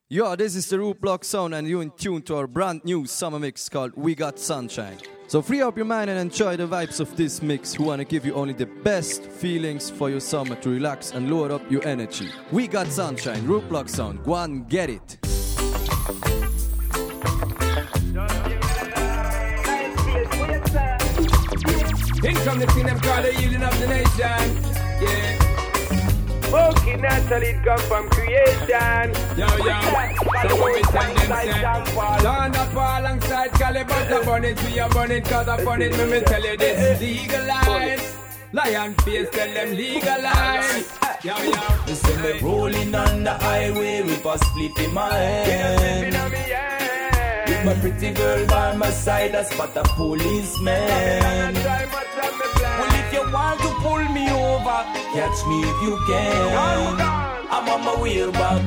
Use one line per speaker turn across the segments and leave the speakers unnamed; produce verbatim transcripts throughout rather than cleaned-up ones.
Yo, this is the Rootblock Sound and you're in tune to our brand new summer mix called We Got Sunshine. So free up your mind and enjoy the vibes of this mix. We want to give you only the best feelings for your summer to relax and load up your energy. We Got Sunshine, Rootblock Sound. Go on, get it.
In come the thing them call the healing of the nation. Yeah.
Okay, naturally it come from creation.
Yo, yo, so when we tell them say Turn up alongside Caliber to burn it, we are burning cause I burn it. When we tell you this, legalize Lion face, tell them legalize. Yo, yo,
listen, me rolling on the highway with a split in my hand. With my pretty girl by my side, I spot a policeman. Well, if you want to pull me over, catch me if you can. I'm on my way back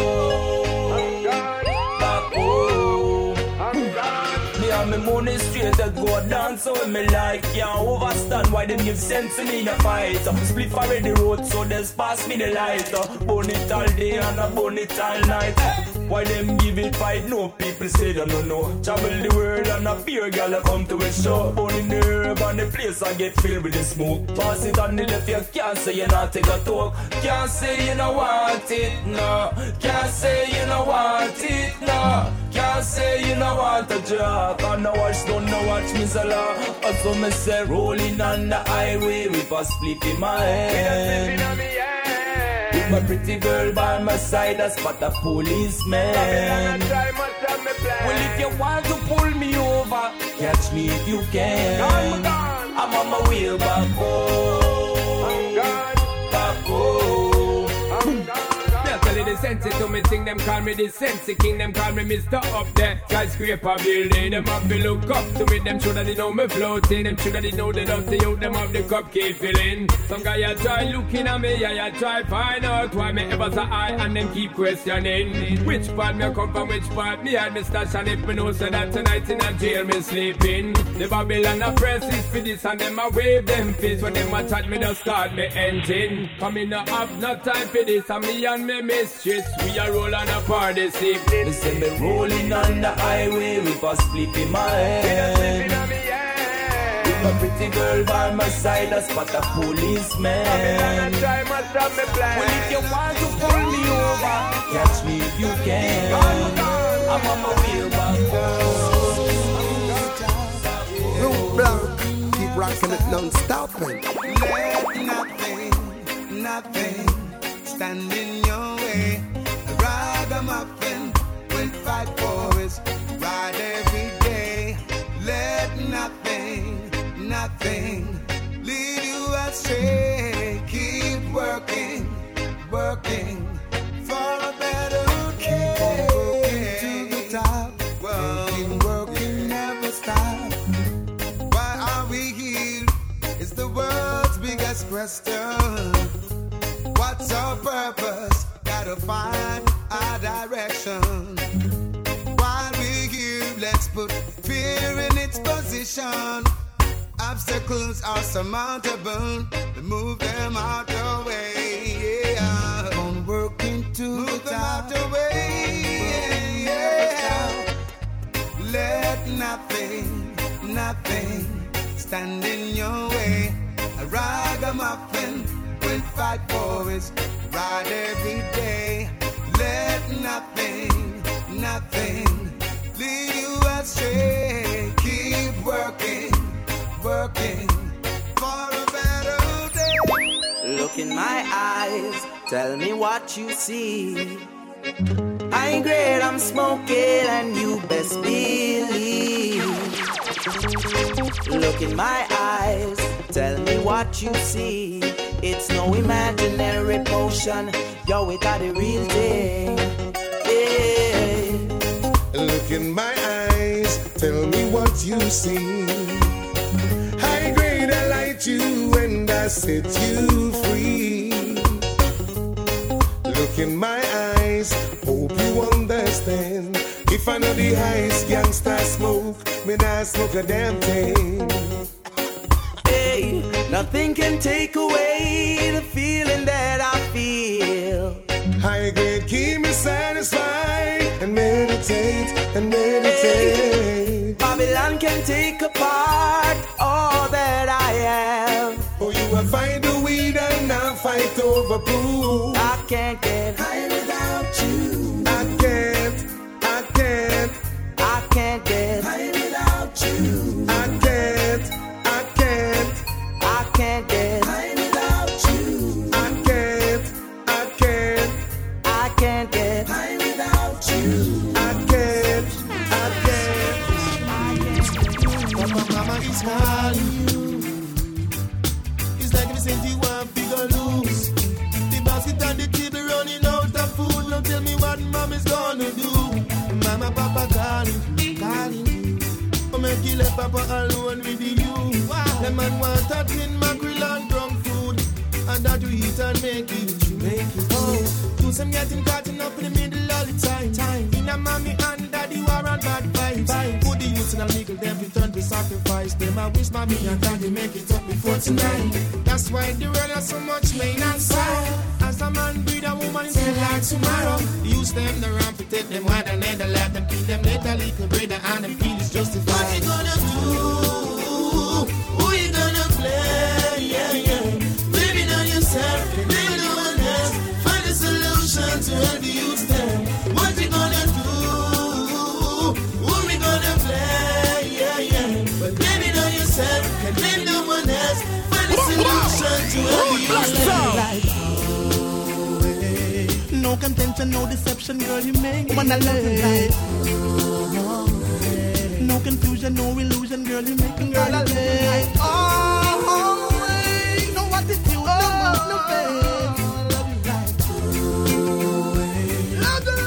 home. Back home. Me and my money straight that go down, so when me like can't overstand why them give sense to me in a fight. Split for the road, so just pass me the light. Burn it all day and I burn it all night. Why them give it fight? No people say they don't know. Travel the world and a beer girl come to a show. Born in the herb and the place I get filled with the smoke. Pass it on the left, you can't say you not take a talk. Can't say you don't want it, no. Can't say you don't want it, no. Can't say you don't want a job. And no watch, don't no watch me so long. Also me say rolling on the highway with a split in my hand. With my pretty girl by my side, I spot a policeman. Well, if you want to pull me over, catch me if you can. I'm on my way back home. Back home.
the sense to me thing, them call me the sense king, them call me Mister Up there. Skyscraper building, them have to look up to me, them should have they know me floating, them should have they know they love the youth, them have the cup keep filling. Some guy I try looking at me, I, I try find out why me ever so high, and them keep questioning which part me come from, which part me had me stash, and if me know so that tonight in a jail me sleeping. The Babylon a press is for this, and them a wave them fists when them a chat me just start me engine. Come in no have no time for this, and me and me mistress, we a roll on a party sleep.
They say me rolling on the highway with a split in my hand. With my pretty girl by my side, I spot a policeman. Well, if you want to pull me over, catch me if you can. I'm on my way back home.
Rootblock, keep rocking it non-stopping.
Let nothing, nothing stand in your way. Ragamuffin will fight for his right every day. Let nothing, nothing lead you astray. Keep working, working for a better day. Keep working to the top. Working, working, never stop. Why are we here? It's the world's biggest question. What's our purpose? Gotta find our direction. While we're here, let's put fear in its position. Obstacles are surmountable, remove them out the way. Yeah. Gonna work into move the them out the way. Yeah. Let nothing, nothing stand in your way. A ragamuffin will fight for his right every day. Let nothing, nothing lead you astray. Keep working, working for a better day.
Look in my eyes, tell me what you see. I ain't great, I'm smoking, and you best believe. Look in my eyes, tell me what you see. It's no imaginary potion, yo, we got the real thing. Yeah.
Look in my eyes, tell me what you see. High grade, I light you and I set you free. Look in my eyes, hope you understand. If I know the highest gangsta smoke, me not smoke a damn thing.
Hey, nothing can take away the feeling that I feel.
High grade keep me satisfied. and meditate and meditate.
Babylon can take apart all that I have.
Oh, you will find the weed and not fight over proof.
I can't get high without you.
I can't, I can't,
I can't get
high without you. I can't, I can't,
I can't get
high without you. I can't, I can't,
I can't get
high without you. I can't, I can't.
But my mama is calling you. It's like me saying you want figure loose. The basket on the table running out of food. Now tell me what mama's gonna do. Mama, papa calling, calling you. Oh, make you let papa alone with you. Wow. The man want that tin mackerel and drunk food, and that you eat and make it true. Make it oh, do some getting caught up in the middle all the time. time. In a mommy and daddy war and bad vibes. Vibes. Put the youth in a legal, them return to sacrifice. Them I wish mommy and daddy make it up before tonight. That's why the world has so much pain and sorrow. As a man breed a woman is like tomorrow. Use them the ramp to take them wide and let them let them keep them little little brother and them feel is justified. What you gonna do? Who you gonna play? Yeah, yeah. Believing on yourself, believing on one else. Find a solution to help the youth them. What you gonna do? Who we gonna play? Yeah, yeah. But believing on yourself, and blame no one else. Find a solution to help the youth them. No contention, no deception, girl, you make when I love you like. No confusion, no illusion, girl, you make me girl I like. Oh, wait, no attitude, no mouth, no face. Love you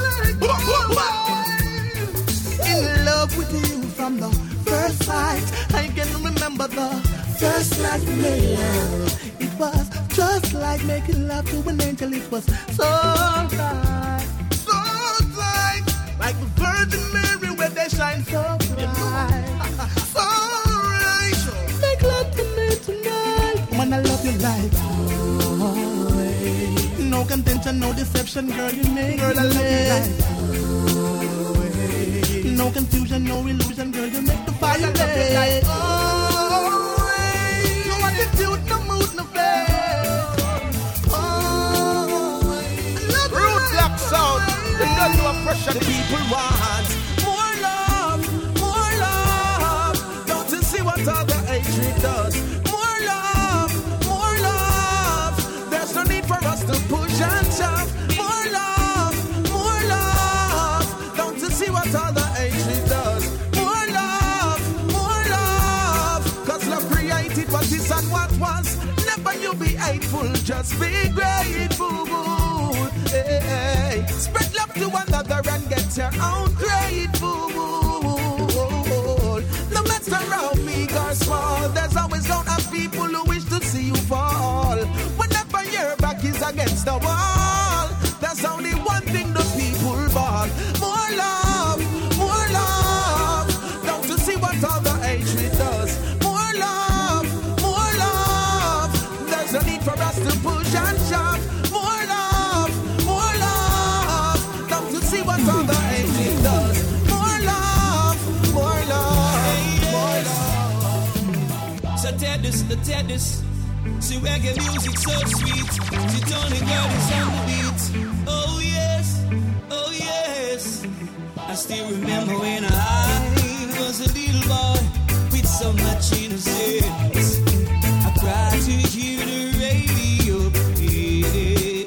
like. In love with you from the first sight. I can remember the first night we made love. It was just like making love to an angel. It was so right, so right, like the Virgin Mary where they shine so bright. So right, make love to me tonight. When I love you like, oh, no contention, no deception, girl, you make girl I love you like. No confusion, no illusion, girl, you make the fire light. Oh, no attitude, no mood, no face. Sound, the girl you are pressure. The people want more love, more love. Don't you see what all the hatred does? More love, more love. There's no need for us to push and shove. More love, more love. Don't you see what all the hatred does? More love, more love. Cause love created what is and what was. Never you be hateful, just be grateful. Hey, hey. Spread love to another and get your own grateful. No matter how big or small, there's always gonna have people who wish to see you fall. Whenever your back is against the wall, there's only one thing the people ball. More love, more love. Don't you see what all the hatred does? More love, more love. There's no need for us to push and shove. What all the hatred does. More love, more love, more love. So tell this, the tell this. See reggae music so sweet. She Tony girl is on the beat. Oh yes, oh yes. I still remember when I was a little boy with so much innocence. I cried to hear the radio play.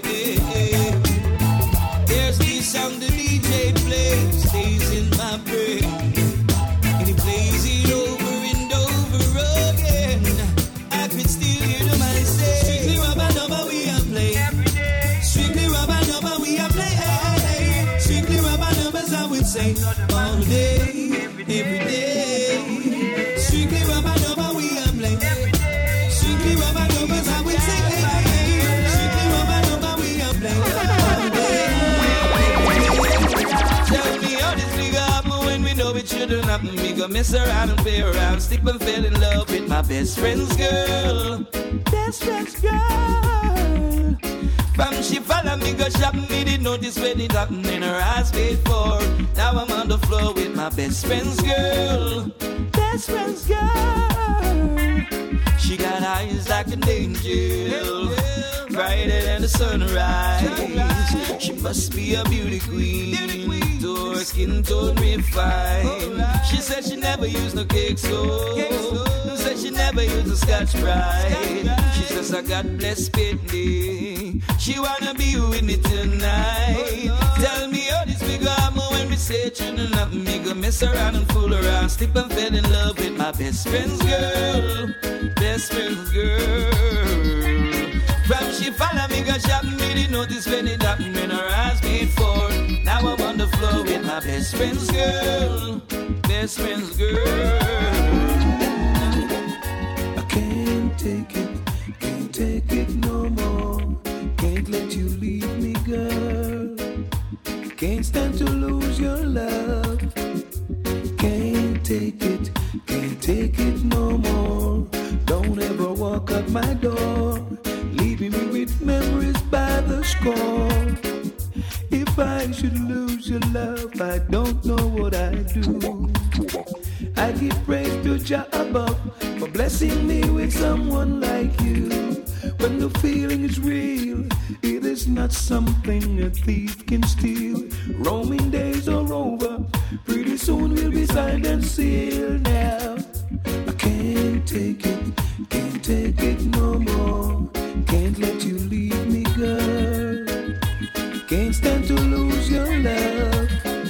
There's this sound that stays in my brain, and he plays it over and over again. I could still hear the man say, strictly rubber number we are playing every day. Strictly rubber number we are playing. Strictly rubber numbers I would say all day, every day. Strictly rubber number we are playing every day. Strictly rubber numbers I would say. Strictly rubber number we are playing all day. Tell me how this nigga happen when we know it shouldn't happen. We go mess around and play around. Stick and fell in love with my best friend's girl. Best friend's girl.
From she follow me go shop, me did notice when it happened in her eyes paid for. Now I'm on the floor with my best friend's girl. Best friend's girl. She got eyes like an angel, brighter than the sunrise. She must be a beauty queen, to her skin tone refined. She said she never used no cake soap, said she never used a Scotch Brite. She says I got blessed Pitney. She wanna be with me tonight. Tell me how this big armor when we say turning up, me go mess around and fool around, slip and fell in love with my best friend's girl. Best friend's girl. From she follow me go shop, me didn't notice when it happened when her eyes made for. Now I'm on the floor with my best friend's girl. Best friend's girl.
I can't take it, can't take it no more. Can't let you leave me, girl. Can't stand to lose your love. Can't take it, can't take it no more. Don't ever walk out my door, leaving me with memories by the score. If I should lose your love, I don't know what I'd do. I give praise to Jah above for blessing me with someone like you. When the feeling is real, it is not something a thief can steal. Roaming days are over, pretty soon we'll be signed and sealed now. I can't take it, can't take it no more. Can't let you leave me, girl. Can't stand to lose your love.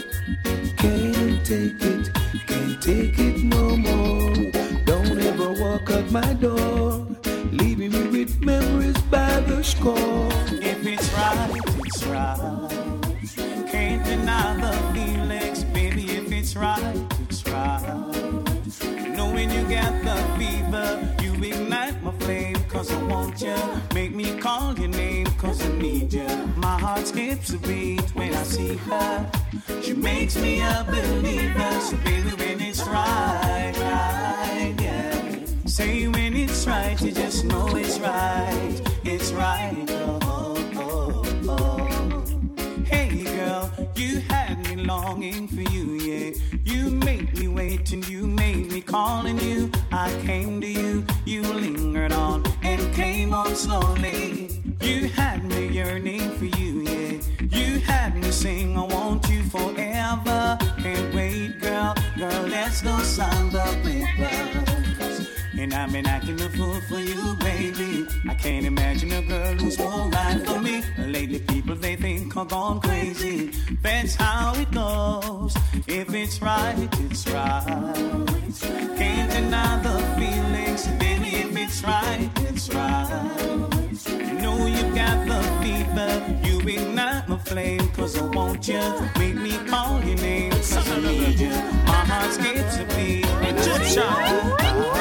Can't take it, can't take it no more. Don't ever walk out my door, leaving me with memories by the score.
If it's right, it's right. Can't deny the feelings, baby. If it's right, it's right. Knowing you got the fever, you ignite my flame, cause I want you. Make me call your name, cause I need you. My heart skips a beat when I see her. She makes me a believer. So baby, when it's right, right, yeah. Say when it's right, you just know it's right. It's right, oh, oh, oh, oh. Hey girl, you had me longing for you, yeah. You made me wait and you made me calling you. I came to you, you lingered on and came on slowly. You had me yearning for you, yeah. You had me sing, I want you forever. Can't wait, girl, girl, let's go sign the papers. And I've been acting a fool for you, baby. I can't imagine a girl who's more right for me. Lately people they think I'm gone crazy. That's how it goes. If it's right, it's right. Can't deny the feelings, baby. If it's right, it's right. Know you got the fever. You ignite my flame, cause I want you. Make me call your name, cause I need you. My heart skips a beat. Egyptian.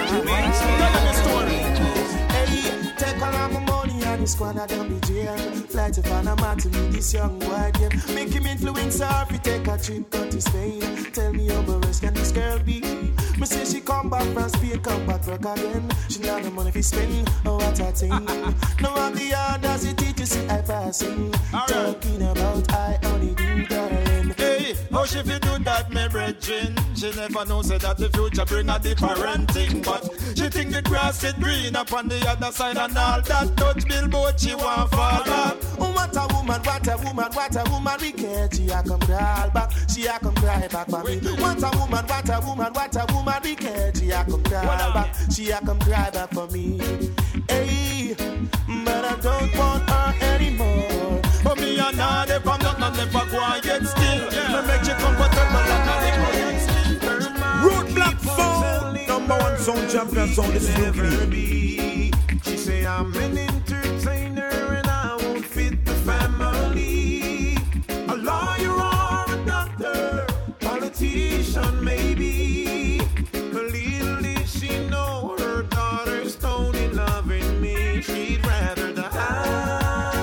Hey, take all of my money and the squad of them be jail. Fly to Panama to meet this young boy again. Make him influence her if he take a trip down to Spain. Tell me how much can this girl be? Me say she come back from Spain, come back work again. She not the money fi spend, oh what a thing. Now all the others it teach you see I passing. Talking about I only do darling.
Hey, how she fi do that, me brethren? She never know say that the future bring a different thing. But she think the grass is green up on the other side and all that touch billboard she want fall back.
Oh what a woman, what a woman, what a woman we can't. She a come crawl back, she a come cry back for me. What a woman, what a woman, what a woman we can't. She a come crawl back, she a come cry back for me. Hey, but I don't want her anymore.
For me and her, if I'm not, not never quiet still. Yeah. Me make you comfortable like a quiet still.
Roadblock phone, number one sound champion sound. This is Nuclear.
She say I'm an entertainer and I won't fit the family. A lawyer or a doctor, politician maybe. But little did she know her daughter's only loving me. She'd rather die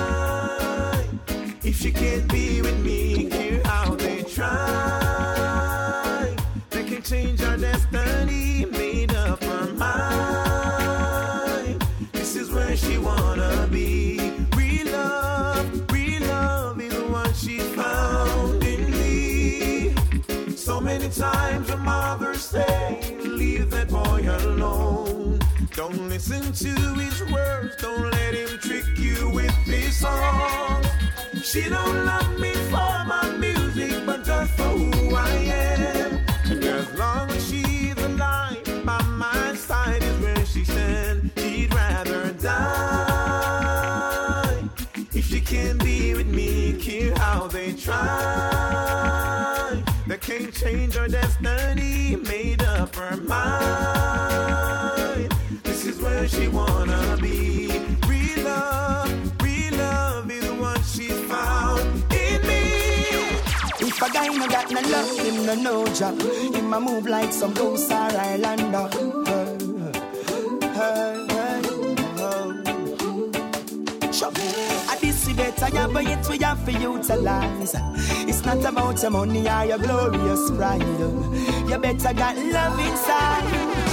if she can't be with me. Hear how they try. They can change our destiny, made up her mind. This is where she wanna be. Real love. Listen to his words, don't let him trick you with this song. She don't love me for my music, but just for who I am. And as long as she's alive, by my side is where she stands. She'd rather die if she can't be with me. Care how they try, they can't change her destiny. Made up her mind. This is where she wanna be. Real love, real love is what she found in me.
If a guy no got no love, him no no job. Him a move like some ghost or Islander. Hey, hey, hey, hey. I this better, yeah, but it we have for utilize. It's not about your money or your glorious pride. You better got love inside.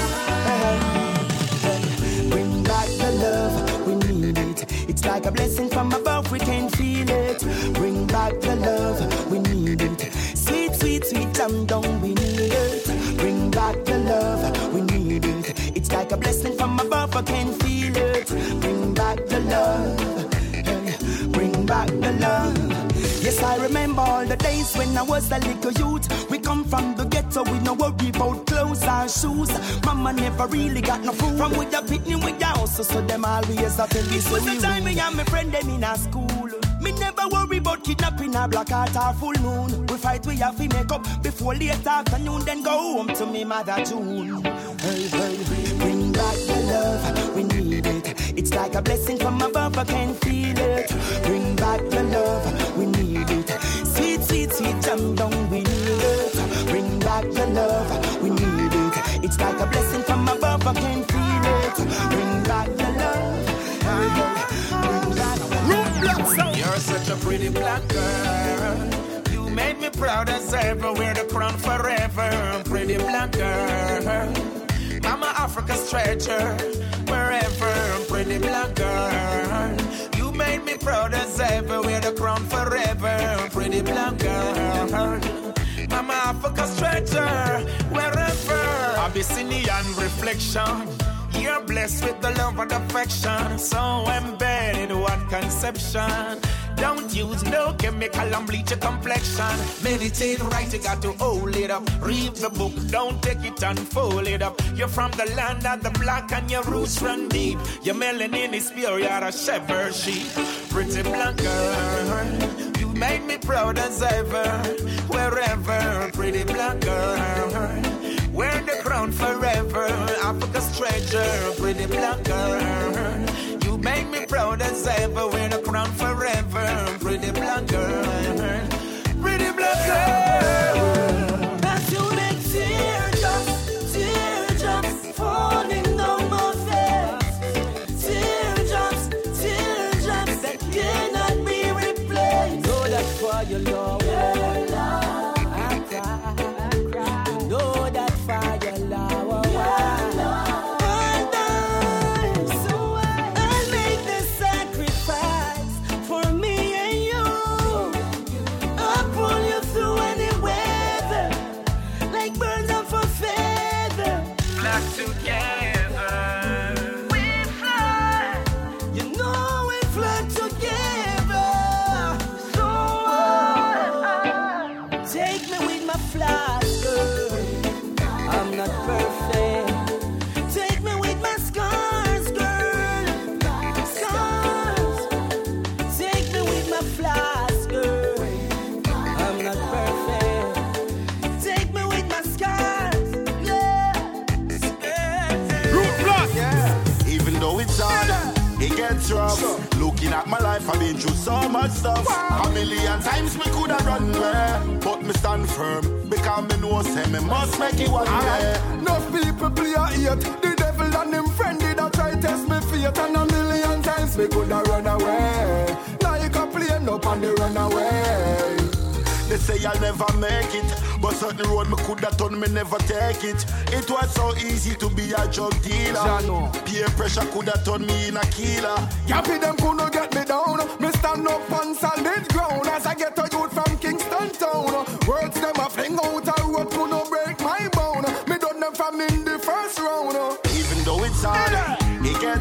Hey, hey. Bring back the love, we need it. It's like a blessing from above, we can feel it. Bring back the love, we need it. Sweet, sweet, sweet, jam down, we need it. Bring back the love, we need it. It's like a blessing from above, I can feel it. Bring back the love, hey, bring back the love. Yes, I remember all the days when I was a little youth. We come from the ghetto, we no worry about clothes or shoes. Mama never really got no food. From with the picnic with the house, so them always have to be. It was the time me and my friend them in a school. Me never worry about kidnapping a black heart or full moon. We fight, we have to make up before late afternoon. Then go home to me mother June. Hey, hey, bring back the love, we need it. It's like a blessing from above, I can feel it. Bring back the love, we need it. Sweet, sweet, sweet jam down, we need it. Bring back the love, we need it. It's like a blessing from above, I can feel it. Bring back the love, bring back the love.
You're such a pretty black girl. You made me proud as ever. Wear the crown forever. Pretty black girl. I'm an Africa's treasure. Wherever. Pretty black girl. You made me proud as ever. Wear the crown forever. Pretty black girl. I'm an Africa's treasure. Wherever. Abyssinian reflection. You're blessed with the love and affection. So embedded, one conception. Don't use no chemical and bleach your complexion. Meditate right, you got to hold it up. Read the book, don't take it and fold it up. You're from the land of the black and your roots run deep. Your melanin is pure, you're a shepherd sheep. Pretty black girl, you made me proud as ever. Wherever, pretty black girl. Wear the crown forever, Africa's treasure, pretty black girl. You make me proud as ever. Wear the crown forever, pretty black girl, pretty black girl.
As you make teardrops, teardrops falling down my face. Teardrops, teardrops that cannot be replaced. Know that for your love, your love, I cry, I cry. You know that for your love, your love.
Rough. Looking at my life, I've been through so much stuff. A million times me coulda run away, but me stand firm because me know say me must make it one day.
Enough people play a hate. The devil and him friend did a try test me fate, and a million times me coulda run away. Like a plane up and they run away.
They say I'll never make it, but certain road me coulda done, me never take it. It was so easy to be a drug dealer. Peer pressure coulda turned me in a killer.
Yappy them coulda get me down. Me stand up on solid ground as I get a youth from Kingston town. Words them a fling out a road coulda break my bone. Me done them from in the first round.
Even though it's hard, it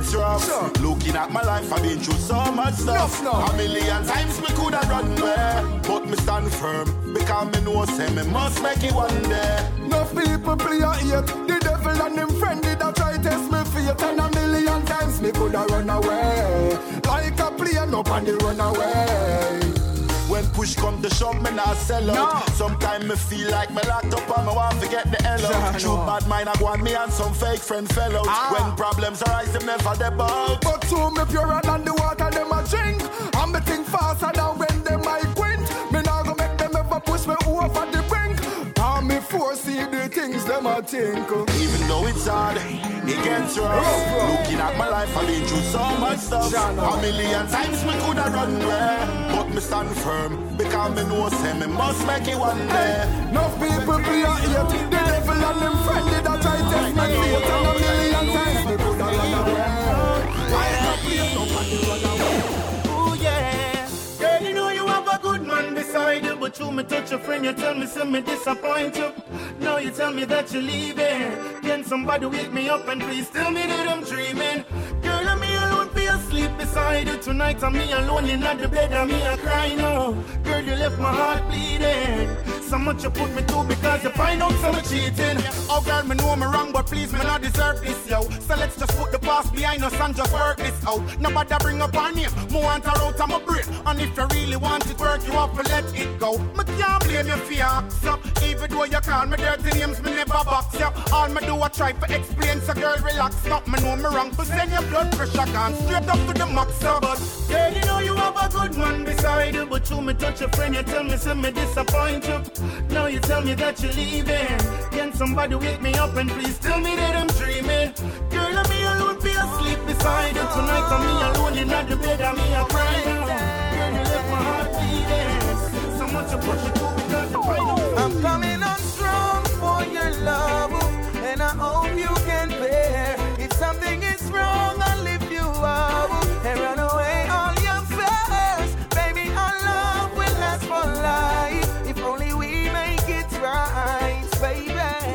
gets rough. Sure. Looking at my life, I've been through so much stuff. No, no. A million times me coulda run away, but me stand firm because me know say me must make it one day.
Enough people play a hate. The devil and them friend did a try test me faith, and a million times me coulda run away. Like a plane up and they run away.
When push come to shove, me not sell out. No. Sometimes me feel like me locked up and me want to get the hell out. True bad mind, I want me and some fake friend fell out. Ah. When problems arise, them never debug.
But to me purer than the water them a drink. And me think faster than when them I quint. Me not go make them ever push me over the brink. And me foresee the things them a think.
Even though it's hard, it gets rough. Oh, looking at my life, I've been through so much stuff. A million times me coulda run away, but me stand firm because me know say me must make it one day.
Hey, enough people play a hate. The devil and them friend did a try test me faith, and a million times me coulda run away. Why not play nobody run away?
Oh yeah, girl, you know you have a good man beside you, but you me touch a friend, you tell me say me disappoint you. Now you tell me that you're leaving. Can somebody wake me up and please tell me that I'm dreaming? Girl, I'm me alone for your sleep beside you tonight. I'm me alone in the bed and me a cry now. Girl, you left my heart bleeding. So much you put me through because you find out some cheating. Oh girl, me know me wrong, but please me not deserve this, yo. So let's just put the past behind us and just work this out. Nobody bring up our name, me want her out of my brain. And if you really want it work, you have to let it go. Me can't blame you for your acts up. Even though you call me dirty names, me never box you. All me do I try to explain, so girl relax. Stop me know me wrong, but send your blood pressure gone straight up to the max up. But girl, you know you have a good man beside you, but you me touch a friend, you tell me say me disappoint you. Now you tell me that you're leaving. Can somebody wake me up and please tell me that I'm dreaming? Girl, I'm me alone, be asleep beside you tonight. I'm me alone in the bed, I'm me a crying. Girl, you left my heart beating. So much you push it through because you find out.
I'm coming on strong for your love, and I hope you can bear. If something is wrong, I'll lift you up and run away all your fears. Baby, our love will last for life. If only we make it right, baby.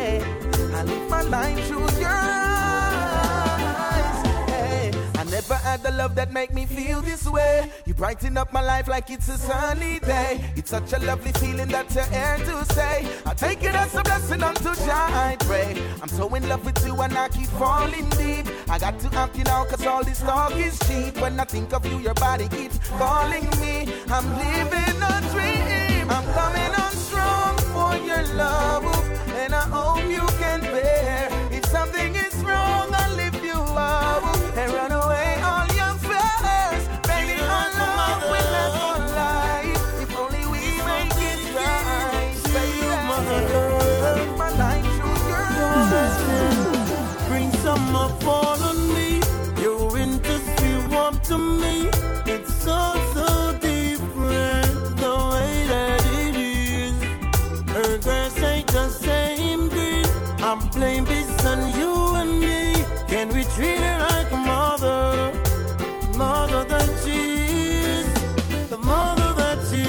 I live my life through your eyes. Hey, I never had the love that make me feel this way. You brighten up my life like it's a sunny day. It's such a lovely feeling that you're here to stay. I take it as a blessing unto Jah I pray. I'm so in love with you and I keep falling deep. I got to ask you now cause all this talk is cheap. When I think of you, your body keeps calling me. I'm living a dream. I'm coming on strong for your love, and I hope you can bear. If something is wrong, I'll lift you up and run away all your fears. Baby, our love will last for life. If only we make it right, baby. Live my life through your eyes.
Bring some up all on me. Your winters feel warm to me. It's so, so different the way that it is. Her grass ain't the same green. I'm playing this on you and me. Can we treat her like a mother? Mother that she is. The mother that she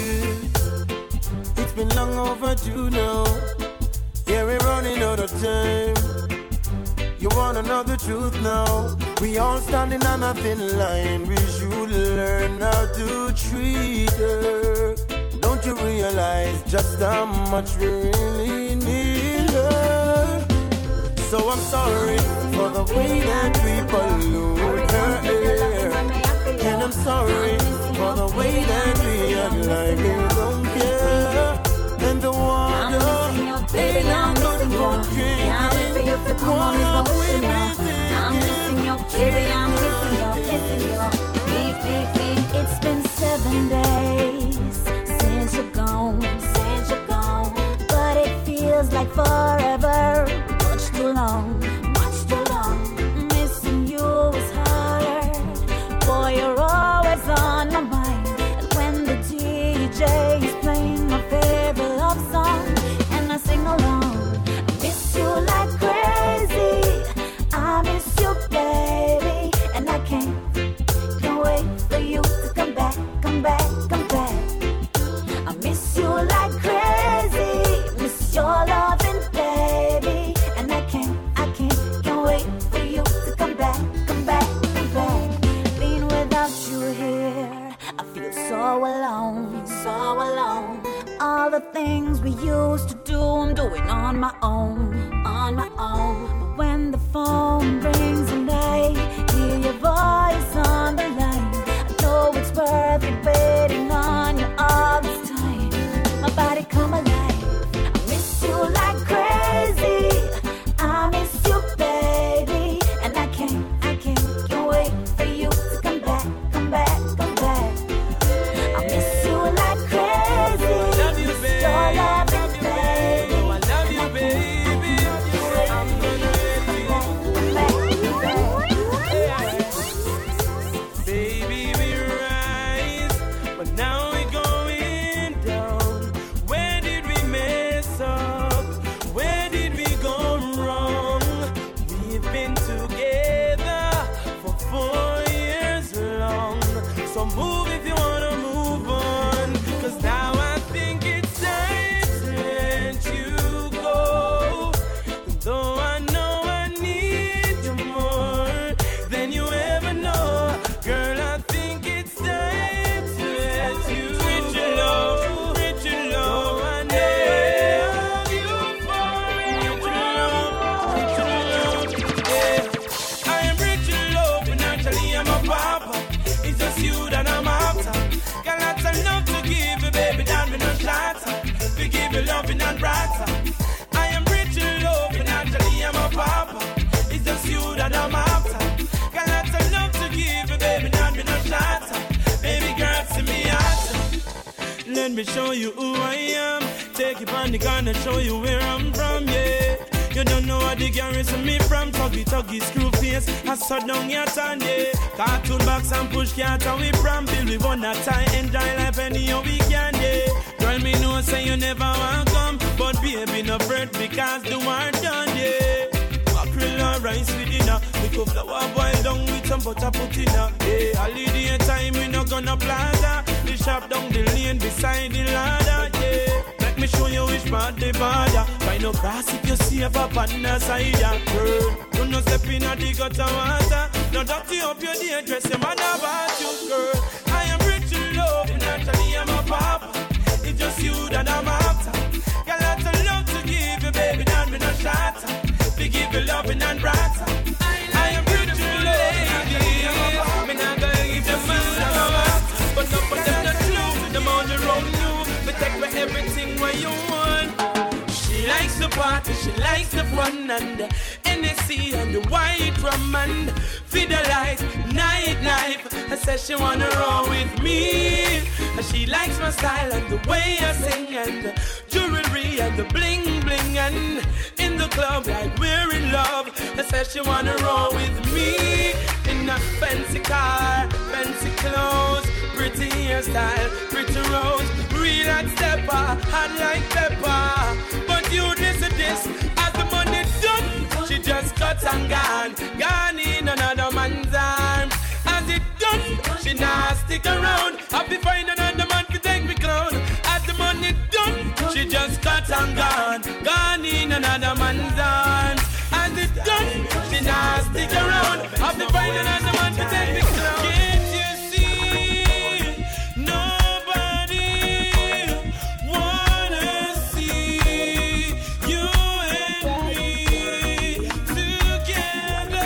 is. It's been long overdue now. Yeah, we're running out of time. You wanna know the truth now? We all standing on a thin line. We should learn how to treat her. Don't you realize just how much we really need her? So I'm sorry for the way that we pollute her air. And I'm sorry for the way that we act like we don't care. And the water, they don't know what drinking. Water we be thinking.
I'm missing your baby, I'm missing your, missing your big, big, big. It's been seven days since you're gone, since you're gone. But it feels like forever, much too long, much too long. Missing you is hard. Boy, you're always on my mind. And when the D J is playing my favorite love song, and I sing along, I miss you like crazy. I miss you, baby, and I can't, can't wait for you to come back, come back, come back. I miss you like crazy, miss your loving, baby. all the things we used to do, I'm doing on my own, on my own. But when the phone rings and I hear your voice on the line, I know it's worth it waiting on you all this time. My body come alive, I miss you like crazy. I miss you, baby, and I can't, I can't, can't wait for you to come back, come back, come back. I miss you like crazy.
Love you, baby.
Your love,
love you, baby. Oh, I love you, baby. I'm gonna let you. Baby, we rise, but now we're going down. Where did we mess up? Where did we go wrong? We've been together for four years long. So move if you wanna move on, 'cause now I think it's time to let you go. Though I know I need you more than you ever know, girl, I think it's time to let you with your love, with your love. I need you for with your love, with your love. Yeah, I am rich in love, and actually I'm a papa. It's just you that I'm after. Got lots of love to give you, baby, that me no shatter. We give you loving and brighter. I am rich in love, and actually I'm a papa. It's just you that I'm after. Got lots of love to give you, baby, that me no shatter. Baby girl, see me after. Let me show you who I am. Take it on the gun and show you where I'm from, yeah. You don't know what the garrison me from. Tuggy, tuggy, screw face. I saw down your tan, yeah. Cartoon box and push cat and we pram. Bill, we wanna tie, enjoy life any we can, yeah. Girl, me know say you never want come, but baby, no fret because the war done, yeah. Mackerel and rice with dinner. We go flour boil down with some butter put in her. Yeah, holiday time we no gonna plaza. The shop down the lane beside the ladder, yeah. Let me show you which part the border. Find no grass if you see a pop on the side, yeah. Girl, you no step in a the gutter water. No dirty up your day, dress your man about you, girl. I am rich in love, and naturally I'm a papa. It's just you that I'm after. Got lots of love to give you, baby, that me no shatter. We give you loving and brighter. I am rich in love, me not gonna give them my love. But no for them not true, them on the road new. But take me everything where you want. She likes the party, she likes the fun and the N S C and the white rum and feed the lights, night night. I said she wanna roll with me. And she likes my style and the way I sing and the jewelry and the bling bling and in the club like we're in love. I said she wanna roll with me in a fancy car, fancy clothes, pretty hairstyle, pretty rose, real like stepper, hot like pepper. But you listen this, as the money done, she just cut and gone, gone in another man's arms. As it done, she not stick around. I'll be find another man to take me clown. As the money done, she just cut and gone, gone in another man's arms. As it done, she not stick around. I'll be find another man to take me clown. Can't you see? Nobody wanna see you and me together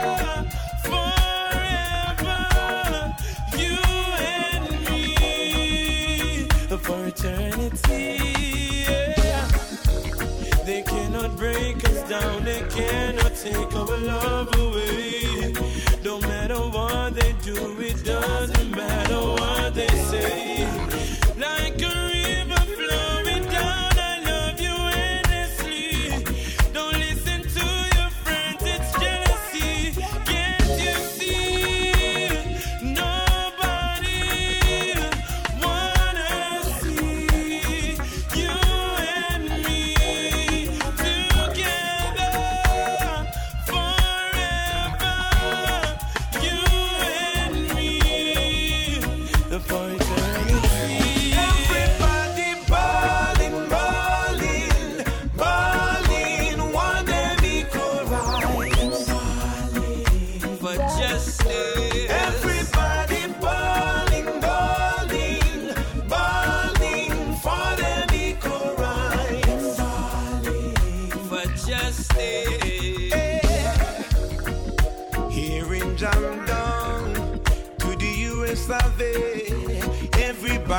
forever. You and me for eternity. Yeah. They cannot break us down. They cannot take our love away. No matter what they do, it doesn't matter what they say. Like a river flowing down, I love you endlessly. Don't listen to your friends, it's jealousy. Can't you see? Nobody wanna see you and me together forever. You and me for eternity.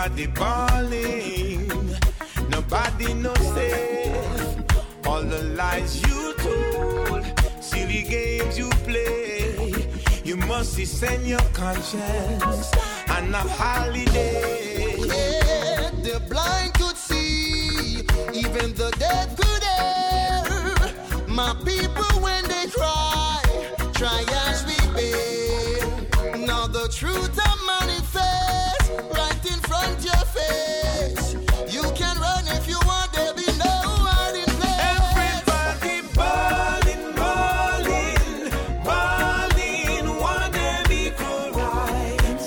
everybody balling. Nobody knows safe. All the lies you told, silly games you play. You must send your conscience on a holiday.
Yeah, the blind could see, even the dead could hear. My people when they cry, try as we bear. Now the truth I manifest right in front of your face. You can run if you want, there be no hiding place.
Everybody balling, balling, balling, want them equal rights,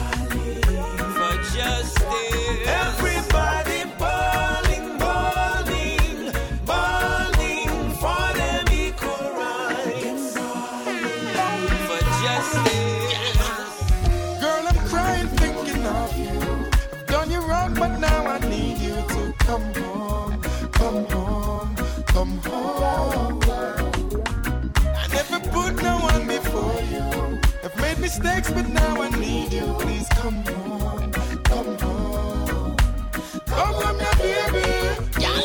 for justice. Everybody balling, balling, balling for them equal rights, for justice.
Girl, I'm crying thinking of you. I've done you wrong, but now I need you to come home, come home, come home. I never put no one before you. I've made mistakes, but now I need you. Please come home, come home. Come home, my baby.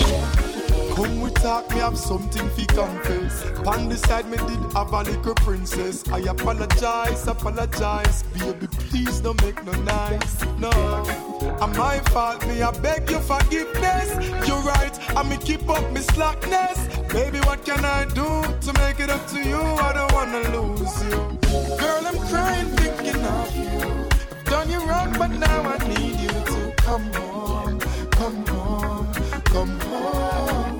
Come we talk, me have something fi confess. Pan the side me did have a little princess. I apologize, apologize. Baby, please don't make no nice. No, I'm my fault, me I beg your forgiveness. You're right, I me keep up me slackness. Baby, what can I do to make it up to you? I don't wanna lose you. Girl, I'm crying thinking of you. I've done you wrong, but now I need you to come home, come home, come home.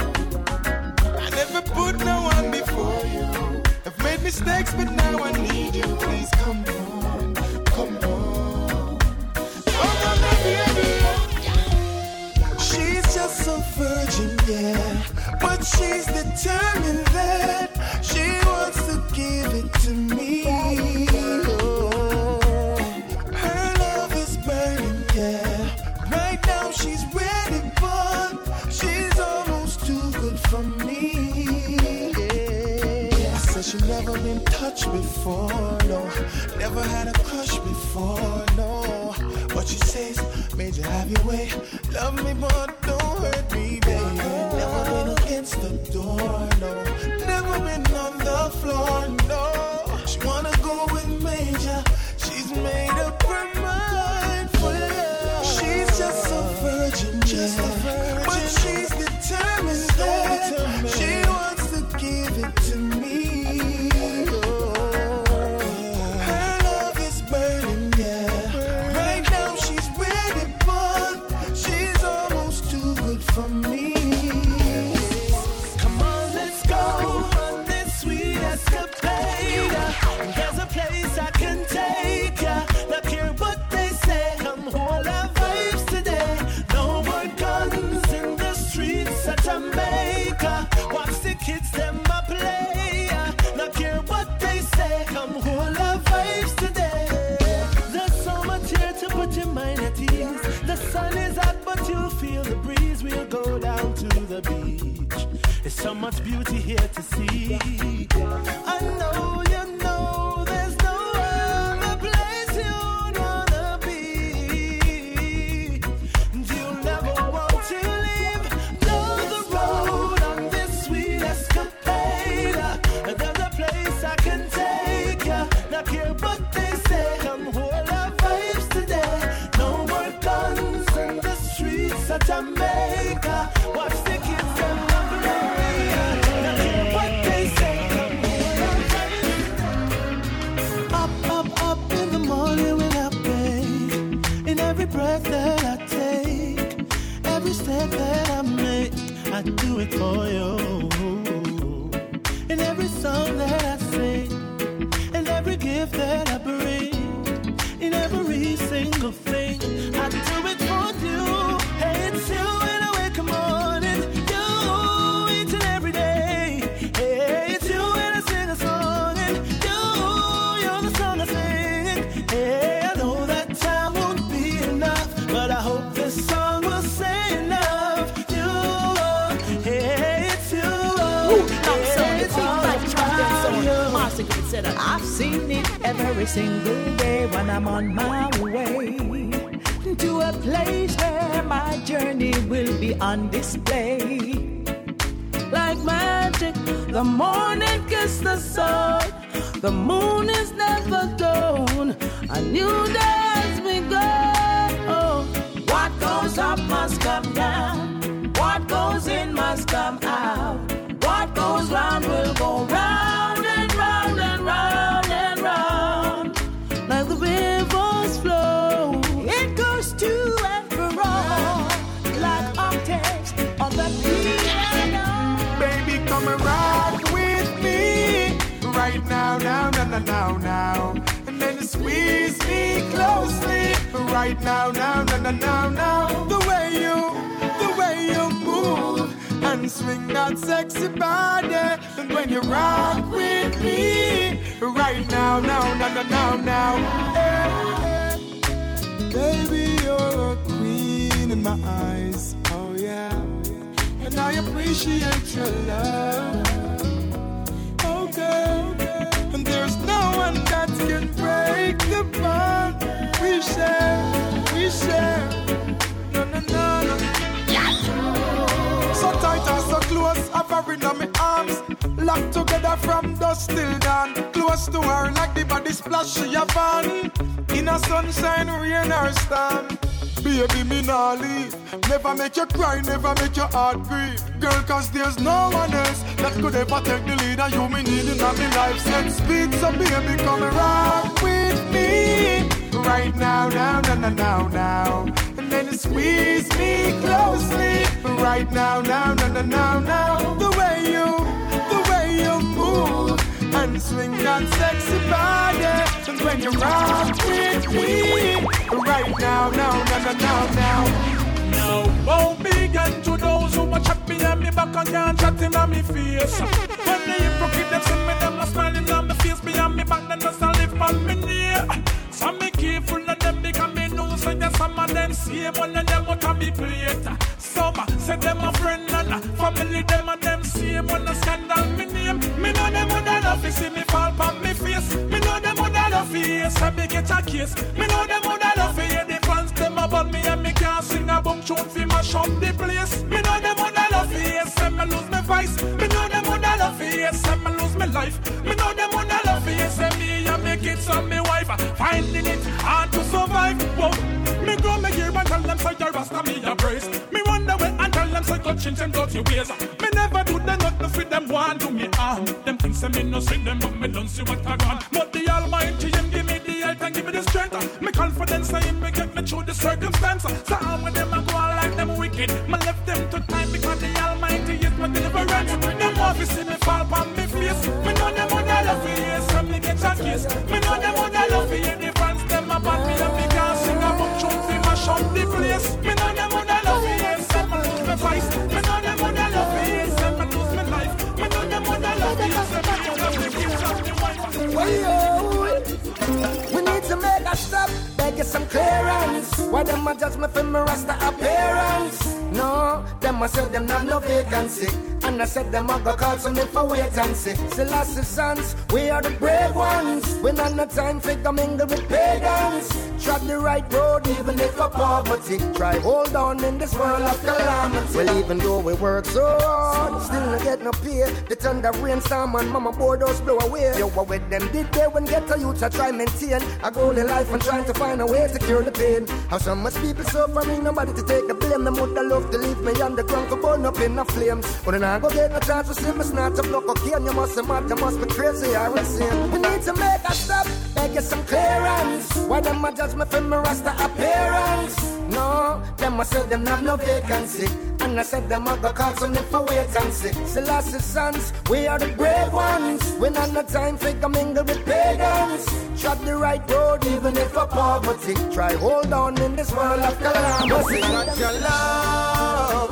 I never put no one before you. I've made mistakes, but now I need you. Please come home, come home. Come on, my baby. She's just a virgin, yeah, but she's determined that she wants to give it to me. Oh, her love is burning, yeah. Right now she's ready, but she's almost too good for me. Yeah. Says she never been touched before, no. Never had a crush before, no. What she says made you have your way. Love me, but don't hurt me, baby. Never been against the door, no. Never been on the floor, no. She wanna go with major. She's made up her mind for love. She's just a virgin, just yeah. a virgin. But she's determined that she wants to give it to me. Oh, her love is burning, yeah. Right now she's ready, but she's almost too good for me. Come on, let's go on this sweet escapade. There's a place I can take ya. Not care what they say. Come hold our vibes today. No more guns in the streets of Jamaica. Watch the kids them a play. Not care what they say. Come hold our vibes today. There's so much here to put your mind at ease. The sun is hot, but you'll feel the breeze. We'll go down to the beach. There's so much beauty here to see. I know you know there's no other place you'd wanna be. You'll never want to leave. Know the road on this sweet escapade. There's a place I can take ya. Not care what they say. Come hold our vibes today. No more guns in the streets of Jamaica. Watch the kids them a play. Not care what they say. Come hold our vibes. Up, up, up in the morning when I wake. In every breath that I take, every step that I make, I do it for you. In every song that I sing, and every gift that I bring, in every single thing, I do it for you. Hey, it's you when I wake up morning, you each and every day. Hey, it's you when I sing a song, and you, you're the song I sing. Hey, I know that time won't be enough, but I hope this song will say enough. You, hey, it's you. Hey, it's all
I've seen it every single day when I'm on my way. into a place where my journey will be on display. Like magic, the morning kiss the sun. The moon is never gone. A new day has begun. Oh. What goes up must come down. What goes in must come out. What goes round will go round and round and round and round. Like the rivers flow, it goes to and fro. Like octaves on the piano.
Baby, come and rock with me right now, now, now, now, now, now. And then you squeeze me closely right now, now, now, now, now, now. The way you, the way you move and swing that sexy body. And when you rock with me right now, now, now, now, now, now. Hey, hey. Baby, you're a queen in my eyes. Oh yeah. And I appreciate your love. Okay. And there's no one that can break the bond we share, we share. No, no, no, no. So tight and so close, hovering on my arms. Locked together from dusk till dawn. Close to her like the body splash she a fan. In a sunshine, rain or storm. Baby, me nah leave. Never make you cry, never make your heart grieve. Girl, cause there's no one else that could ever take the lead. And you me need in my life. Set speed, so baby, come and rock with me right now, now, now, now, now, now. And then you squeeze me closely right now, now, now, now, now, now. The way you, the way you move and swing that sexy body. And when you rock with me right now, now, now, now, now, now.
Now, won't begin to those who watch me and me back and can't chat in on me face. When the hypocrite them see me, them not smiling on me face. Behind me back, then just a live on me near. So me careful of them because me know so that some of them see one of them out of me plate. Some say them a friend and a family, them and them see one a scandal me name. Me know them would love to see me fall on me face. Me know them would love to hear so me get a case. Me know them would love to hear the fans them about me and me can't sing a boom tune fi mash up the place. Me know them would love to hear so me lose my voice. Me know them would love to hear so me lose my life. Me know them would love to hear so me and me kids and me wife finding it hard to survive. Whoa. Me grow me gear and tell them say your rasta me a brace. Me wonder where and tell them say go change them dirty ways. Me never do them nothing for them want to me harm. Them things say me no see them but me don't see what I got. But the Almighty him give me the health and give me the strength. Me confidence say him me get me through the circumstance. So how when them a go on like them wicked, me left them to time because the Almighty is my deliverance. Them want to see me fall on me face. Me know them would love to hear some me get a kiss. Me know them would love to hear the fans them about me and me can't sing a book tune fi mash up the place. Me know them would love to hear some me lose my voice. Me know them would love to hear some me lose my life. Me know them would love to hear some me lose my kids and me wife.
We need to make a stop, beg you some clearance. Why them a judge me for my rasta appearance? No, them a say them have no vacancy. And I said them a go call some me for wait and see. Selassie sons, we are the brave ones. We not no time for to mingle with pagans. Tread the right road even if for poverty. Try hold on in this world of calamity. Well, even though we work so hard, still not get no pay. The thunder rainstorm and mama boardhouse blow away. Yo, what with them did they when get a youth I try maintain a goal in life and trying to find a way to cure the pain. How so much people suffering, nobody to take the blame. Them would love to leave me on the ground for burn up in the flames. But then I go get no chance to see me snatch up no cocaine. You must be mad, you must be crazy or insane. We need to make a stop, beg you some clearance. Why them a judge me for my rasta appearance? No, them a say them have no vacancy. And I said them a go call some for wait and see. Selassie sons, we are the brave ones. We not no time for to mingle with pagans. Tread the right road even if for poverty. Try hold on in this world of calamity.
Not your love,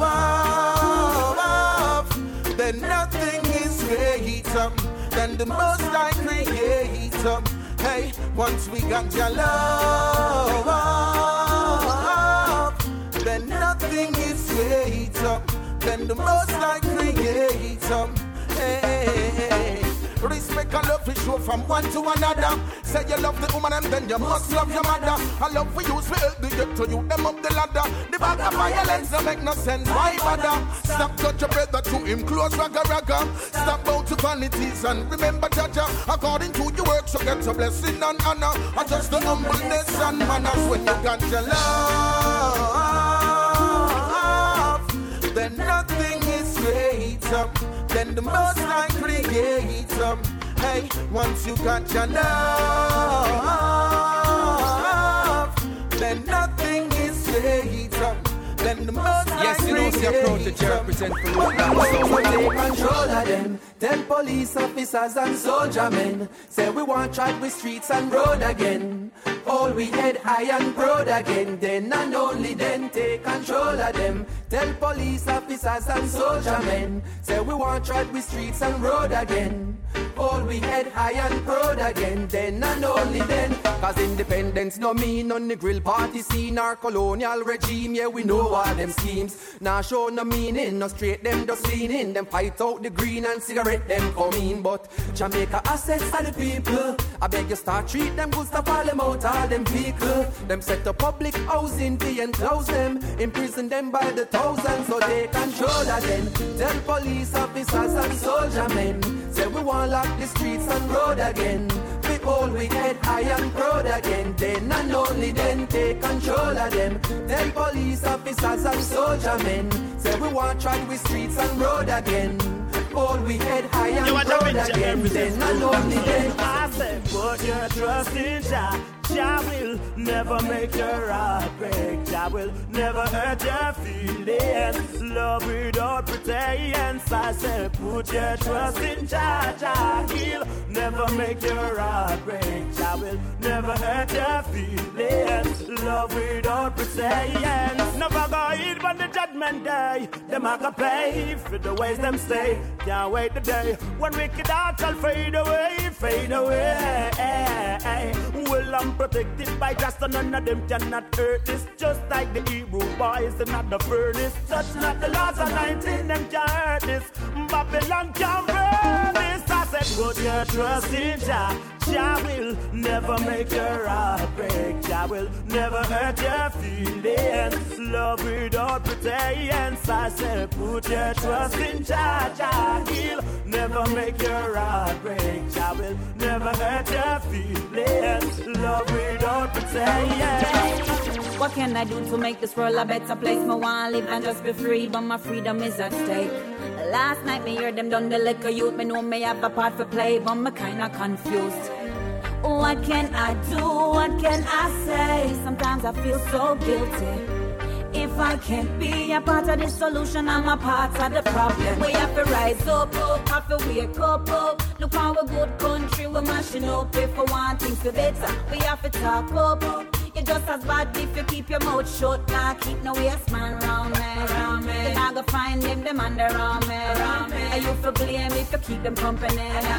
then nothing is greater than the most I creator. Hey, once we got your love, then nothing is greater than the most I creator. Hey,
Respect and love is show from one to another. Say you love the woman and then you must love your mother. I love for you, so help the get to you, them up the ladder. The bag of violence don't make no sense, why bother? Stop touch your brother to him, close ragga ragga. Stop bow to vanities and remember Jaja. According to your work, so get a blessing and honor. And just the humbleness and manners when you got your love. Then nothing is greater than the most high creator. Hey, once you got your love, then nothing is greater than the most high
Yes, you know, see a proud to represent for you.
So take control of them. Tell police officers and soldier men. Say we want try with streets and road again. All we head high and proud again. Then and only then take control of them. Tell police officers and soldier men. Say we want try with streets and road again. All we head high and proud again. Then and only then. Cause independence no mean on the grill party scene or colonial regime. Yeah, we know all them schemes. Now show no meaning, no straight them just leaning. Them fight out the green and cigarette them come in. But Jamaica assets are the people. I beg you start treat them good, stop all them out, all them vehicle. Them set up public housing fee and close them. Imprison them by the thousands so they control of them. Tell police officers and soldier men. Say we want lock the streets and road again. We all we head high and proud again. Then and only then take control of them. Tell police officers and soldier men. Say we want try with streets and road again. All we head high and proud again. Then and only then.
I said put your trust in Jah. Jah will never make your heart break. Jah will never hurt your feelings. Love without pretense. I said put your trust in Jah. Jah he'll never make your heart break. Jah will never hurt your feelings. Love without pretense. Never go hid on the judgment day. Them a go pay for the ways them stay. Can't wait the day when wicked hearts shall fade away, fade away. Well, I'm protected by just none of them cannot hurt this. Just like the Hebrew boys in the furnace. Touch not the laws of nineteen, them can't hurt this. Babylon can't burn this. I said put your trust in Jah. Jah will never make your heart break. Jah will never hurt your feelings. Love without pretense. I said put your trust in Jah. Jah he'll never make your heart break. Jah will never hurt your feelings. Love without pretense.
What can I do to make this world a better place? Me want live and just be free, but my freedom is at stake. Last night me heard them done the liquor youth. Me know me have a part for play, but me kinda confused. What can I do? What can I say? Sometimes I feel so guilty. If I can't be a part of the solution, I'm a part of the problem. We have to rise up, up, have to wake up, up. Look how a good country we're mashing up. If we want things to better, we have to talk up, up. You're just as bad if you keep your mouth shut. Nah, keep no waste man round me, round me. Then I go find them, them under around me, around me. And you for blame if you keep them company.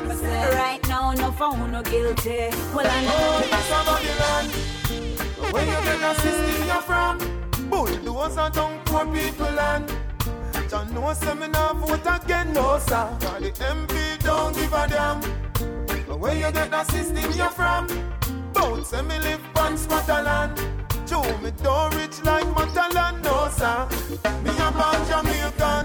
Right now, no phone, no guilty. Well, I know
it's about the land. Where you get the system you're from? Bulldoze and down poor people land. John no seminar vote again, no sir. Cause the M P don't give a damn. But where you get the system you're from? Bounce and me live on Scotland. Joe me don't rich like Matalan, no sir. Me a born Jamaican.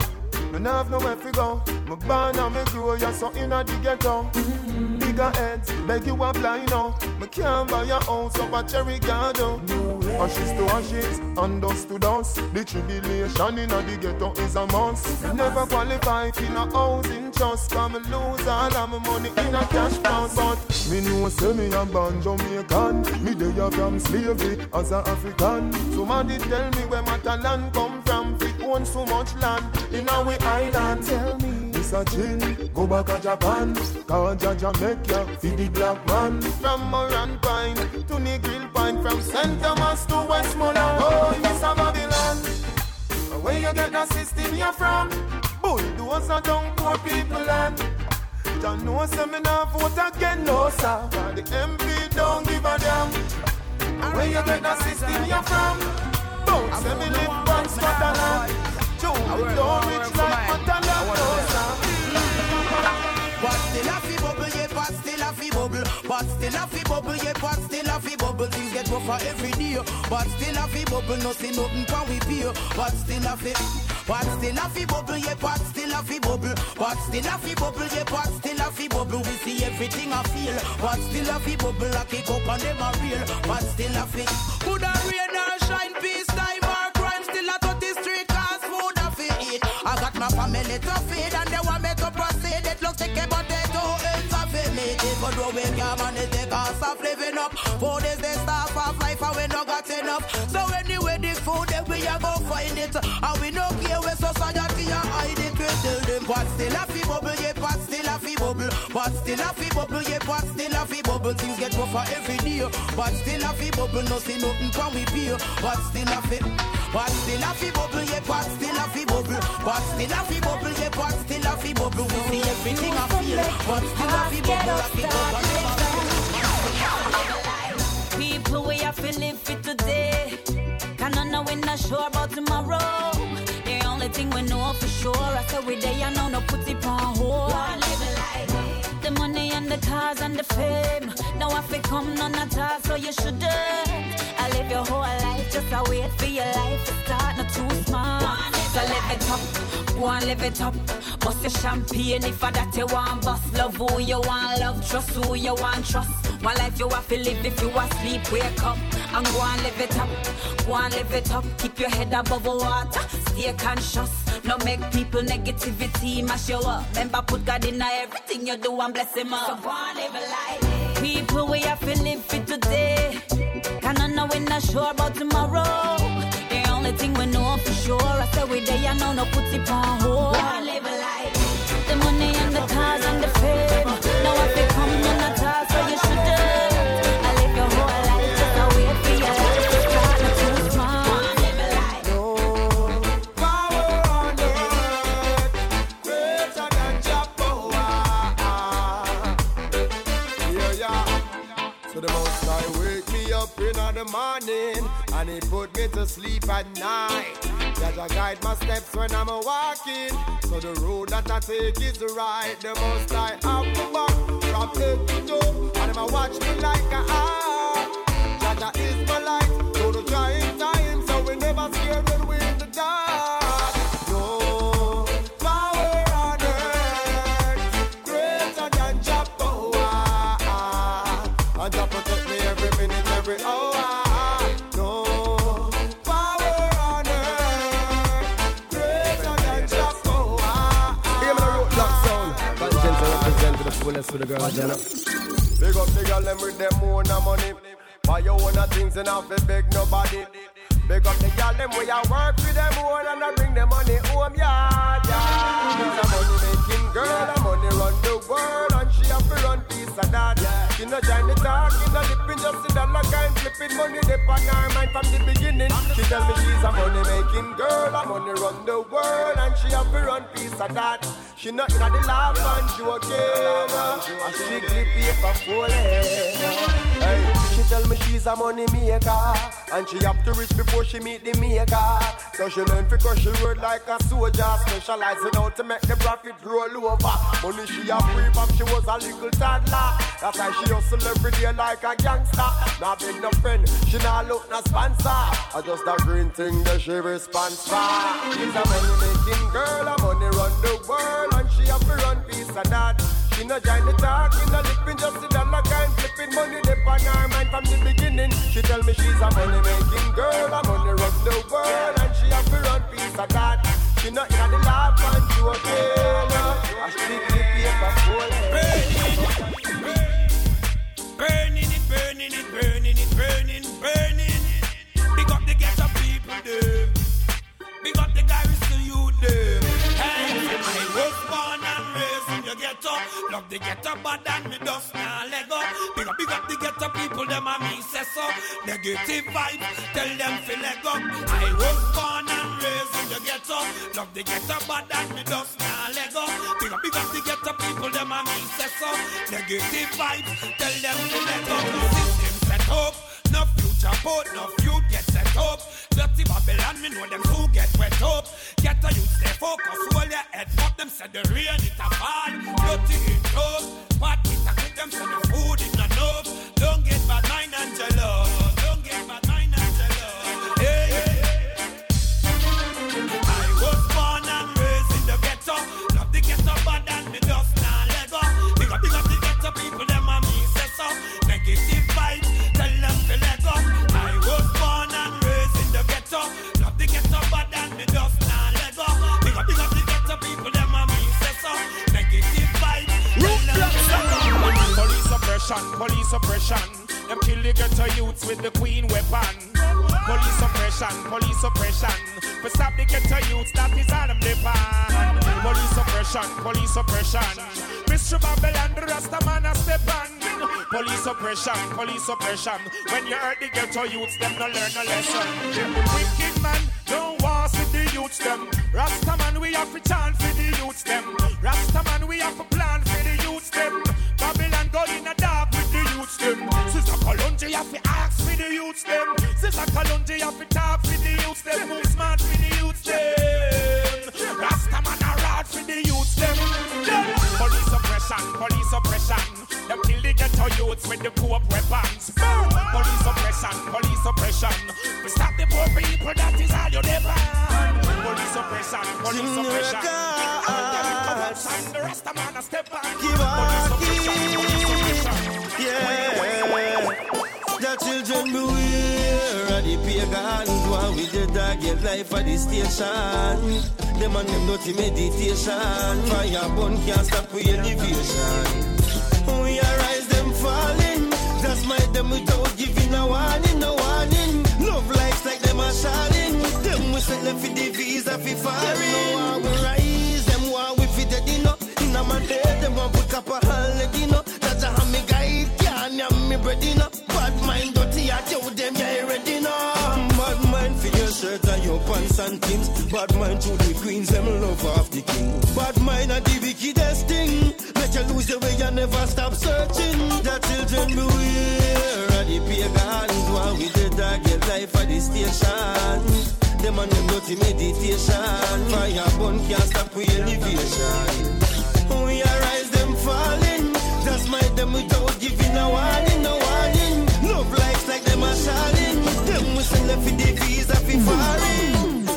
Me nah have nowhere to go. Me born and me grow, you're so inna the ghetto. Bigger heads, beg you apply now. Me can't buy your house up a Cherry Garden. Ashes to ashes, and dust to dust. The tribulation inna the ghetto is a must. Never qualify for no housing trust. Cause me lose all of my money in a cash bounce. But me know say me a born Jamaican. Me dey a from slavery as a African. Somebody tell me where Matalan come from. Fi own so much land in our island. Tell me it's a chill, go back to Japan. Cause Jaja make ya feed the black man. From Moran Pine to Negril Pine. From Saint Thomas to Westmoreland. Oh, it's a Babylon. Where you get the system you're from? Bulldoze and down poor people land. John no seminar vote again, no sir. Cause the M P don't give a damn. Where you get the system you're from? Bounce and me live on Scotland. Joe, don't rich like Matalan, no sir.
What did I feel?
bubble, yeah, but still a fi bubble. Things get rougher every day, but still a fi bubble. No see nothing can we pay, but still a fi. But still a fi bubble, yeah, but still a fi bubble. But still a fi bubble, yeah, but still a fi bubble. We see everything I feel, but still a fi bubble. I kick up and them a real, but still a fi. Could a rain or shine, peace time or crime, still a thirty street cause food a fi eat. I got my family to feed and they want me to proceed. It looks like a potato ends a fi meat. If I do we can't manage the cost of living up. Food is the staff of life and we no got enough. So anyway the food then we a go find it. And we no care where society a hide it. We tell them but still a fi bubble, yeah, but still a fi bubble. But still a fi bubble, yeah, but still a fi bubble. Things get rougher every day, but still a fi bubble. No see nothing can we pay, but still a fi. But still a fi bubble, yeah, but still a fi bubble. But still a fi bubble, yeah, but still a fi bubble. We see everything I feel, but still a fi bubble. I keep up and never.
People we have to live for today. Cannot know we're not sure about tomorrow. The only thing we know for sure, I say we day I know no put it on hold. The money and the cars and the fame. Now if it come none at all, so you shouldn't. I live your whole life, just a wait for your life to start, not too smart. So live it up, go and live it up. Bust your champagne if I that you want. Bust love who you want, love trust who you want, trust. One life you have to live, if you asleep, wake up and go and live it up. Go and live it up, keep your head above the water. Stay conscious, no make people negativity mash you up. Remember put God in everything you do and bless him up. So go and live a life. People we have to live for today. Cannot know we're not sure about tomorrow. The only thing we know for sure, I say we day I know no put it on hold. Go and live a life. The money and the cars and the fame. Now if they come none at all, so you shouldn't. I live your whole life, just a wait for your life to start, not too smart. Go and live a life.
No power on earth greater than Jehovah. Yeah, yeah. So the Most High wake me up in the morning and He put me to sleep at night. That I guide my steps when I'm a walking. So the road that I take is right. The Most High have the back from head to toe, and Him a watch me like a eye. Jaja is my light through the trying times, so we never scared when we're in the dark. No power on earth greater than Jehovah, and Jah protect me every minute, every hour.
For the girls, you know.
Big up the girl them with them own money. Buy your own things and have to beg nobody. Big up the girl them where you work with them own and I bring them money home, yeah, yeah. She's a money making girl, a money run the world, and she have to run piece of that. She no join the talk, she no lipping, just see that like I'm flipping money dip on her mind from the beginning. She tell me she's a money making girl, a money run the world, and she have to run piece of that. She not in the laugh and joking, a strictly paper full. Hey, she tell me she's a money maker, and she have to reach before she meet the maker. So she learn to crush the road like a soldier, specializing how to make the profit roll over. Money she a free from she was a little toddler. That's why she hustle every day like a gangster. Not big no friend, she not look no sponsor. I just a green thing that she responds for. She's a money making girl, a money run the world, and she have to run piece of that. She no join the talk, she no lipping, just sit down like I'm flipping money dip on her mind from the beginning. She tell me she's a money making girl, a money run the world, and she have to run piece of that. She not in the laugh and joking, I strictly paper full.
Burning it, burning it, burning it, burning, burning it. Big up the ghetto people, them. Big up the guys to you, them. Hey, I was born and raised in the ghetto. Love the ghetto, but then me dust now Lego. Big up, big up the ghetto people, them and me say so. Negative vibes, tell them feel Lego. I was born and raised in the ghetto. Love the ghetto, but then me dust now Lego. Big up, big up the ghetto people, them and me say so. Negative vibes, tell them feel Lego. System set up, no future boat, no youth get set up. Dirty Babylon, me know them who get wet up. Get a youth stay focused, hold your head up. Them said the rain it a fall, dirty it up. But it a cook them said the food it not enough. Don't oppression, police oppression. Them kill the ghetto youths with the queen weapon. Police oppression, police oppression. For stop the ghetto youths, that is all them depend. Police oppression, police oppression. Mister Babylon, the Rasta man a step on. Police oppression, police oppression. When you hurt the ghetto youths, them no learn a lesson. Wicked man, don't want to the youths them. Rasta man, we have to chant for the youths them. Rasta man, we have to plan for the youths them. Babylon go in a dark with the youths them. Sister Kalonji have to ask for the youths them. Sister Kalonji have to talk for the youths them. Move smart for the youths them. Rasta man a rod for the youths them. Police oppression, police oppression. Them kill the ghetto youths with the coop weapons. Police oppression, police oppression. We stop the poor people, that is all you never. Police oppression, police oppression. And the Rasta man a step back. Police oppression, police oppression.
Yeah. The children beware of the pagans while we the dog get life at the station. Them and them dirty meditation. Fire burn can't stop with elevation. We arise them falling. Just mind them without giving a warning, no warning. Love lives like them are shining. Them we sell them for the visa for foreign. No we rise, them want we fit the dinner. In a man dead, them want put up a holiday, you know. That's a hammy guide, can't have me bread, you know. Bad mind dirty, I tell them you're ready now. Bad mind for your shirt and your pants and things. Bad mind to the queens, them love off the king. Bad mind and the wickedest thing. Let you lose the way you never stop searching. The children beware of the pagans while we the dog get life at the station. Them and them dirty meditation. Fire burn can't stop with elevation. We arise them falling. Just mind them without giving a warning, no warning. Love lives like them are shining. Them we send them for the visa for foreign.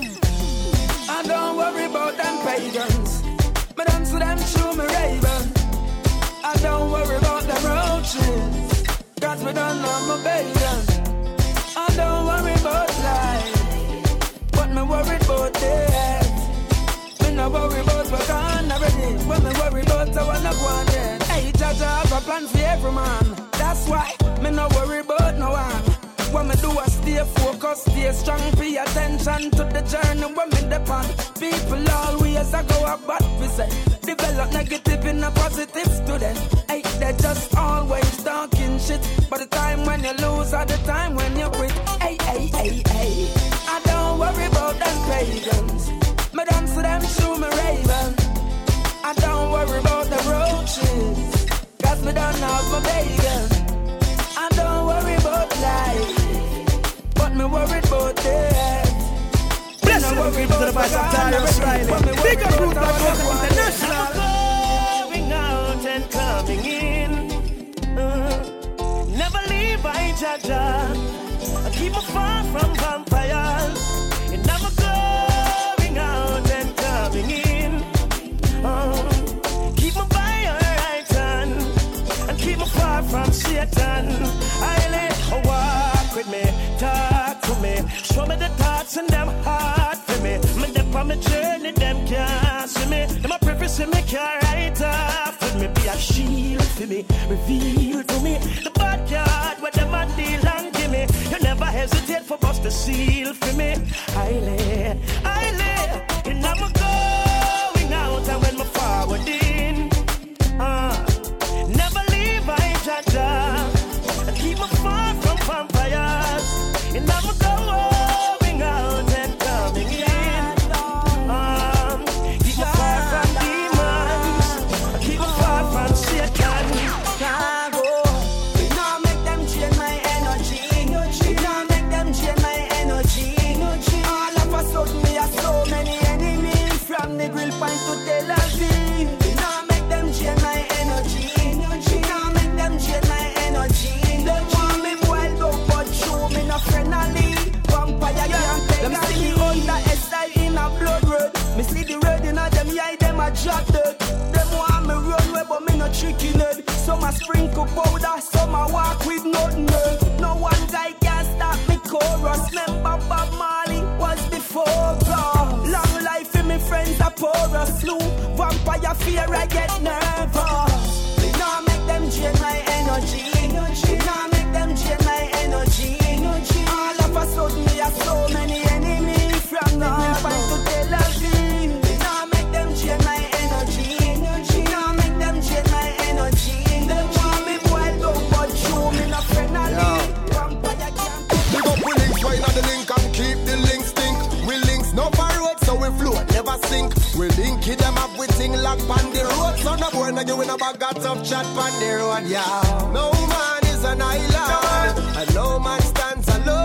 I don't worry about them pagans. Me dance to them through me raven. I don't worry about them roaches. Cause we don't know my bacon. I don't worry about life. But me worried about death. Me no worry about what I'm already. When me worry about I wanna go on then. Hey, Jaja have a plan for every man. That's why me no worry about no one. What me do is stay focused, stay strong, pay attention to the journey when me depend. People always a go up, but we say develop negative in a positive student. Hey, they just always talking shit. But the time when you lose or the time when you quit. Hey, hey, hey, hey. I don't worry about them pagans. Me dance to them through me raven. I don't worry about the roaches. Cause me don't have my bacon. I don't worry about life, but me worried about death.
Bless you, worried about the voice of Darius Riley. Big up Root Black International.
Going out and coming in. Uh, never leave by Jaja. I keep me far from vampires. And never going out and coming in. Uh, keep me by your right hand. And keep me far from Satan. I let her walk with me, talk to me, show me the thoughts and them hard for me. Me dip on my journey, them can't see me. Them a preface see me can't write off with me. Be a shield for me, reveal to me the bad card where them a deal and give me. You never hesitate for bust the seal for me. I lay, I lay, and I'm going out and when me forward in. Uh, never leave my Jaja. Keep me far from vampires. And I'm going out and coming in. Um, keep me far from demons. Keep me far from Satan.
Can't go. We not make them drain my energy. We not make them drain my energy. All of a sudden we have so many enemies. From the grill point to Tel Aviv. We not make them drain my energy. We not make them drain my energy. Them want me wild up, but show me no friendly. Vampire can't take a lead. Under S I in a blood red. Me see the red in a them eye, them a drop dead. Them want me run away, but me no tricky head. Some a sprinkle powder, some a walk with nothing else. No one guy can stop me chorus. Remember Bob Marley was before God. Long life in me friends a pour a slew. Vampire fear I get nervous. Me nah make them drain my energy.
sink. We link it them up with thing lock on the road. So no boy no you in a bag got tough chat on the road, yeah. No man is an island, and no man stands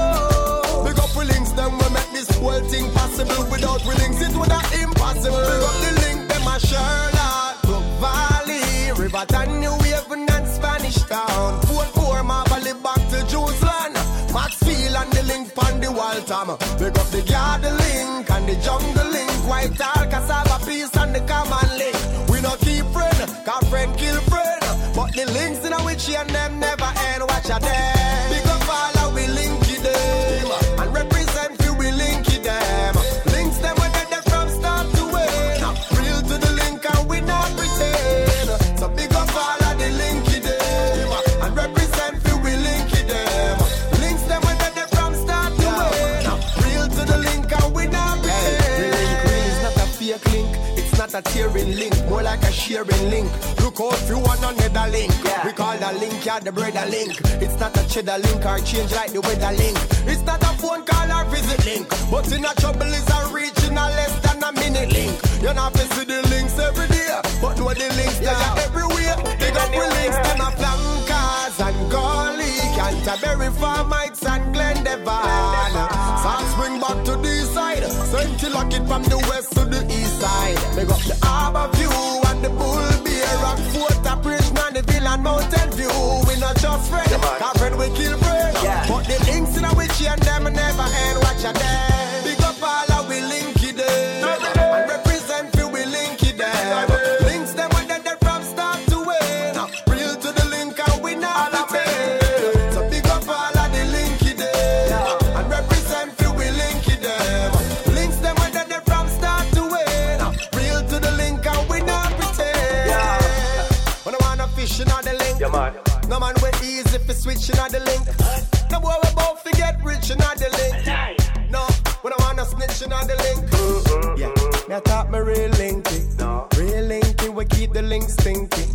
alone. Big up we links them we make this whole thing possible. Without we links it would have impossible. Big up the link them a Sherlock, Brook Valley, Riverton, New Haven and Spanish Town, Fort Moore, Marley back to Jerusalem, Maxfield and the link on the Waltham. Big up the garden link and the jungle link, Whitehall, Cassava, Peace and the common link. We no keep friend, cause friend kill friend. But the links in a which and them never end. Watch a them. Big up all how we link it them and represent you we link it them. Links them when they're from start to end. Real to the link and we not pretend. So big up all how the link it them and represent you we link it them. Links them when they're from start to end. Real to the link and we not pretend. Hey, the link really is not a fake link. It's not a tearing link, more like a sharing link. Look out if you want another link. Yeah. We call the link, yeah, the brother link. It's not a cheddar link or change like the weather link. It's not a phone call or visit link. But in a trouble is a reaching a less than a minute link. You're not to see the links every day, but know the links yeah. They are everywhere. They got the links, them a flankers and Gully, Canterbury, Farmites and Glendevon. South Spring back to the side, Saint Lockett from the west to the east side. They got the Harbour View and the Bull Bear, Rockfort, Bridge, Nannyville and Mountain View. We not just friends, cause friend we kill friends. Yeah. But the links in a which and them never end. Watch a them. Big up all how we link it them and represent you we link it them. Links them when they're from start to end. Real to the link and we not pretend. So big up all how the link it them and represent you we link it them. Links them when they're from start to end. Real to the link and we not pretend. Yeah. When I wanna fish in the link, yeah, man. No man we easy for switching on the link. No boy we both to get rich in the link. No, when I wanna snitch in on the link. Mm-hmm. Yeah, me I thought me real linky. No. Real linky we keep the links stinky.